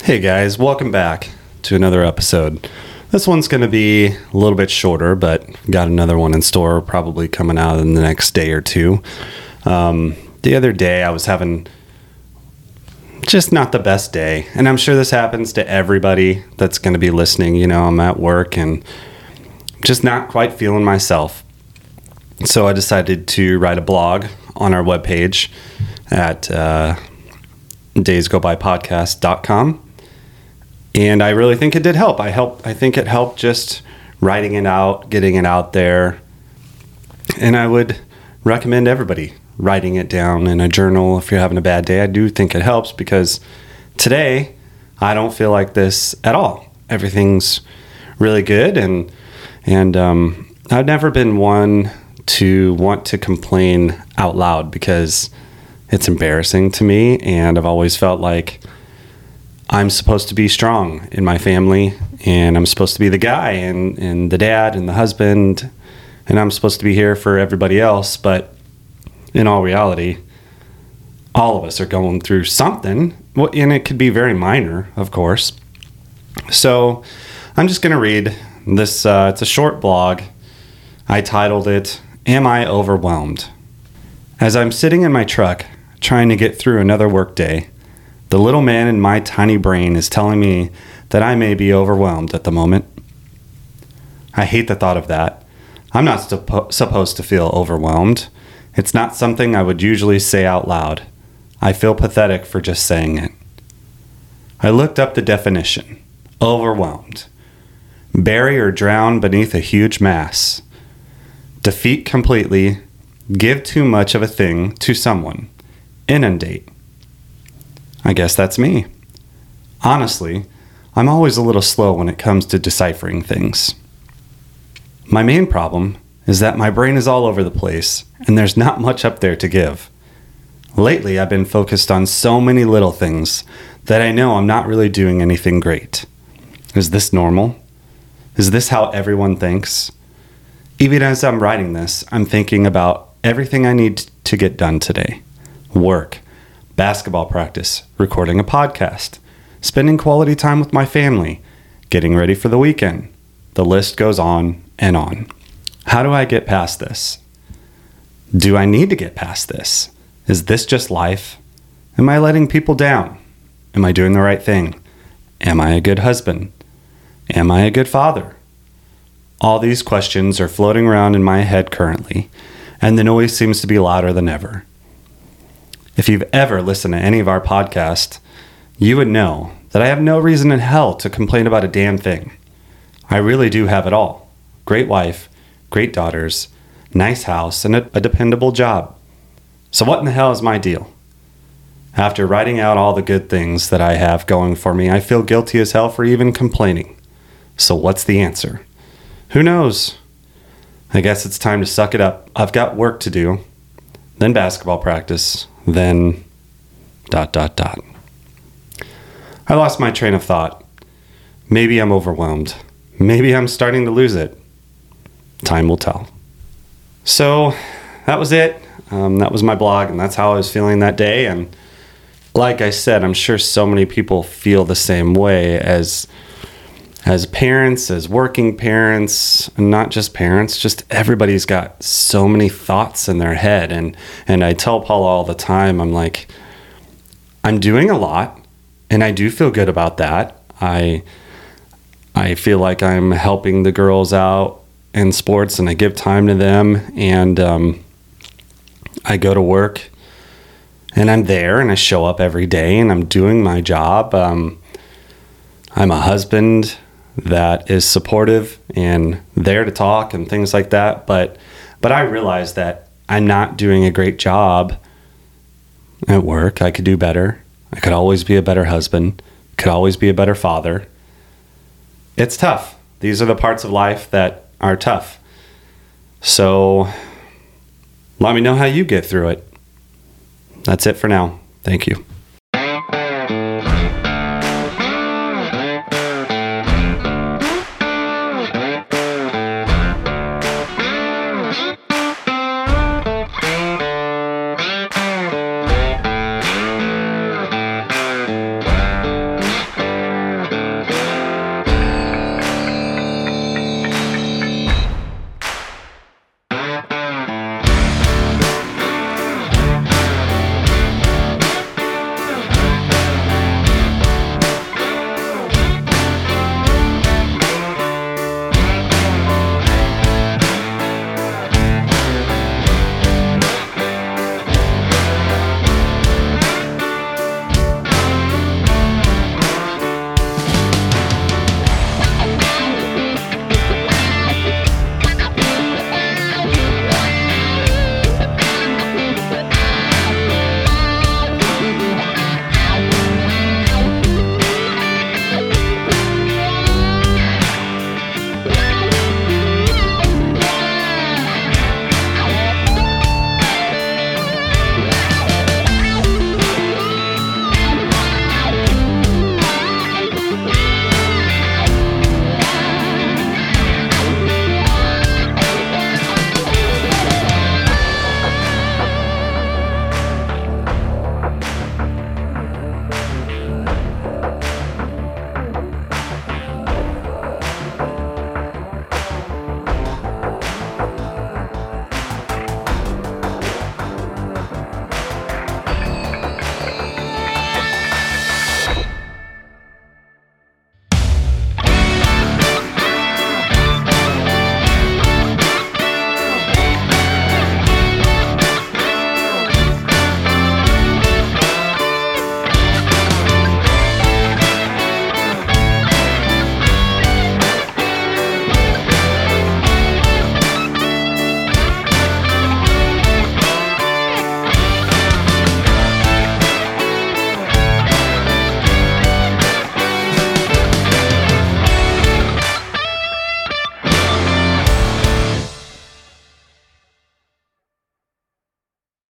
Hey guys, welcome back to another episode. This one's going to be a little bit shorter, but got another one in store probably coming out in the next day or two. The other day I was having just not the best day, and I'm sure this happens to everybody that's going to be listening. You know, I'm at work and just not quite feeling myself. So I decided to write a blog on our webpage at daysgobypodcast.com. And I really think it did help. I think it helped just writing it out, getting it out there. And I would recommend everybody writing it down in a journal if you're having a bad day. I do think it helps because today I don't feel like this at all. Everything's really good, and I've never been one to want to complain out loud because it's embarrassing to me, and I've always felt like I'm supposed to be strong in my family, and I'm supposed to be the guy and the dad and the husband, and I'm supposed to be here for everybody else. But in all reality, all of us are going through something, and it could be very minor, of course. So I'm just going to read this. It's a short blog. I titled it, "Am I Overwhelmed?" As I'm sitting in my truck trying to get through another workday, the little man in my tiny brain is telling me that I may be overwhelmed at the moment. I hate the thought of that. I'm not supposed to feel overwhelmed. It's not something I would usually say out loud. I feel pathetic for just saying it. I looked up the definition. Overwhelmed. Bury or drown beneath a huge mass. Defeat completely. Give too much of a thing to someone. Inundate. I guess that's me. Honestly, I'm always a little slow when it comes to deciphering things. My main problem is that my brain is all over the place, and there's not much up there to give. Lately, I've been focused on so many little things that I know I'm not really doing anything great. Is this normal? Is this how everyone thinks? Even as I'm writing this, I'm thinking about everything I need to get done today. Work. Basketball practice, recording a podcast, spending quality time with my family, getting ready for the weekend. The list goes on and on. How do I get past this? Do I need to get past this? Is this just life? Am I letting people down? Am I doing the right thing? Am I a good husband? Am I a good father? All these questions are floating around in my head currently, and the noise seems to be louder than ever. If you've ever listened to any of our podcasts, you would know that I have no reason in hell to complain about a damn thing. I really do have it all. Great wife, great daughters, nice house, and a dependable job. So what in the hell is my deal? After writing out all the good things that I have going for me, I feel guilty as hell for even complaining. So what's the answer? Who knows? I guess it's time to suck it up. I've got work to do, then basketball practice, then ... I lost my train of thought. Maybe I'm overwhelmed. Maybe I'm starting to lose it. Time will tell. So that was it. That was my blog, and that's how I was feeling that day. And like I said, I'm sure so many people feel the same way as parents, as working parents, and not just parents, just everybody's got so many thoughts in their head. And I tell Paula all the time, I'm like, I'm doing a lot, and I do feel good about that. I feel like I'm helping the girls out in sports, and I give time to them, and I go to work, and I'm there, and I show up every day, and I'm doing my job. I'm a husband that is supportive and there to talk and things like that. But I realize that I'm not doing a great job at work. I could do better. I could always be a better husband. Could always be a better father. It's tough. These are the parts of life that are tough. So let me know how you get through it. That's it for now. Thank you.